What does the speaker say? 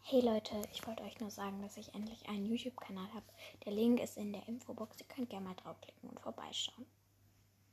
Hey Leute, ich wollte euch nur sagen, dass ich endlich einen YouTube-Kanal habe. Der Link ist in der Infobox. Ihr könnt gerne mal draufklicken und vorbeischauen.